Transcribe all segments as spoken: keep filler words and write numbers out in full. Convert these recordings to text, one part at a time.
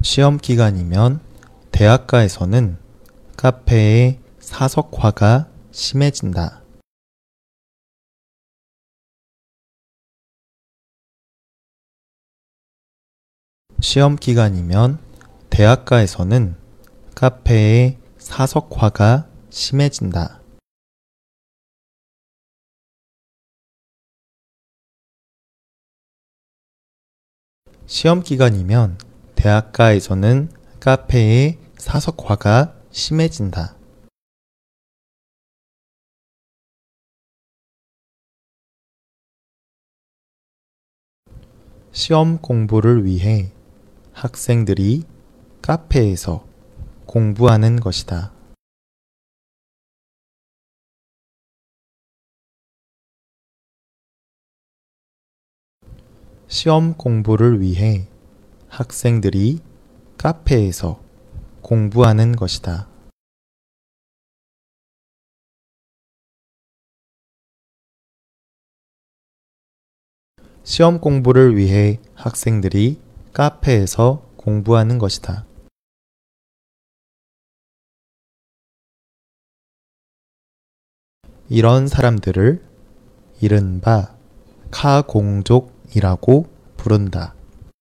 시험 기간이면 대학가에서는 카페의 사석화가 심해진다. 시험 기간이면 대학가에서는 카페의 사석화가 심해진다. 시험 기간이면 대학가에서는 카페의 사석화가 심해진다. 시험 공부를 위해 학생들이 카페에서 공부하는 것이다. 시험 공부를 위해 학생들이 카페에서 공부하는 것이다. 시험 공부를 위해 학생들이 카페에서 공부하는 것이다. 이런 사람들을 이른바 카공족이라고 부른다.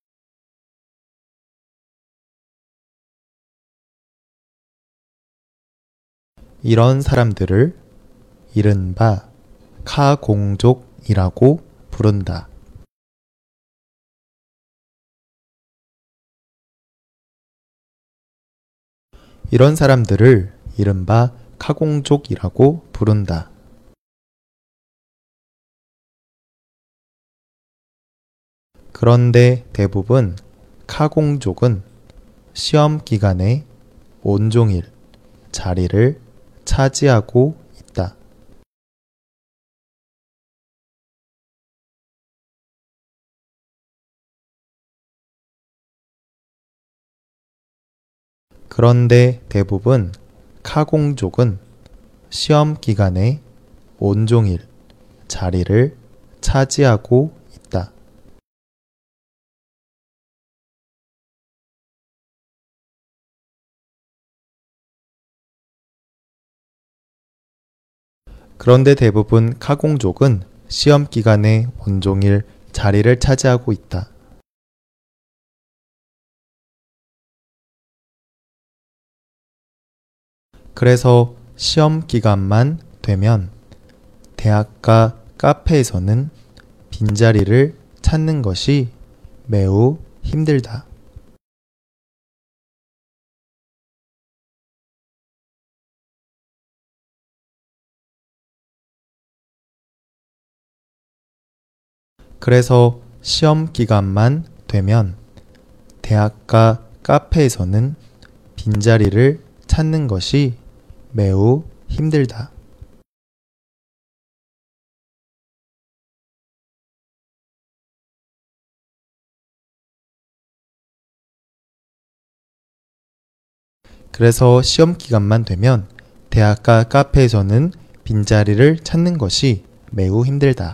이런 사람들을 이른바 카공족이라고 부른다. 이런 사람들을 이른바 카공족이라고 부른다. 그런데 대부분 카공족은 시험 기간에 온종일 자리를 차지하고 있다. 그런데 대부분 카공족은 시험 기간에 온종일 자리를 차지하고 있다. 그런데 대부분 카공족은 시험 기간에 온종일 자리를 차지하고 있다. 그래서 시험 기간만 되면 대학가 카페에서는 빈자리를 찾는 것이 매우 힘들다. 그래서 시험 기간만 되면 대학가 카페에서는 빈자리를 찾는 것이 매우 힘들다. 그래서 시험 기간만 되면 대학가 카페에서는 빈자리를 찾는 것이 매우 힘들다.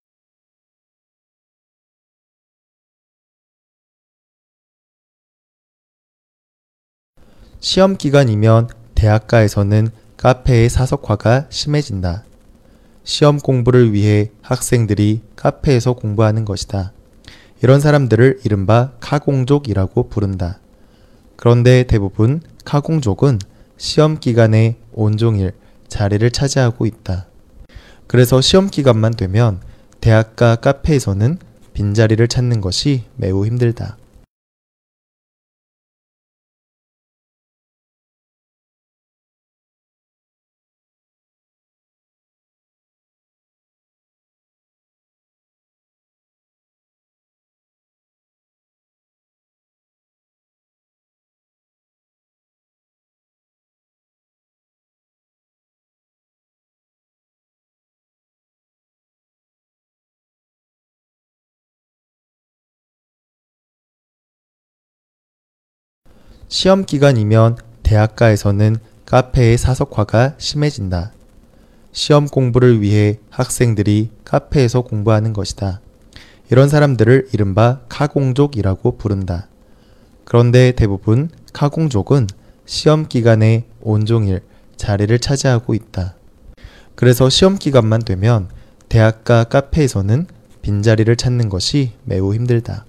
시험 기간이면 대학가에서는 카페의 사석화가 심해진다. 시험 공부를 위해 학생들이 카페에서 공부하는 것이다. 이런 사람들을 이른바 카공족이라고 부른다. 그런데 대부분 카공족은 시험 기간에 온종일 자리를 차지하고 있다. 그래서 시험 기간만 되면 대학가 카페에서는 빈자리를 찾는 것이 매우 힘들다. 시험 기간이면 대학가에서는 카페의 사석화가 심해진다. 시험 공부를 위해 학생들이 카페에서 공부하는 것이다. 이런 사람들을 이른바 카공족이라고 부른다. 그런데 대부분 카공족은 시험 기간에 온종일 자리를 차지하고 있다. 그래서 시험 기간만 되면 대학가 카페에서는 빈자리를 찾는 것이 매우 힘들다.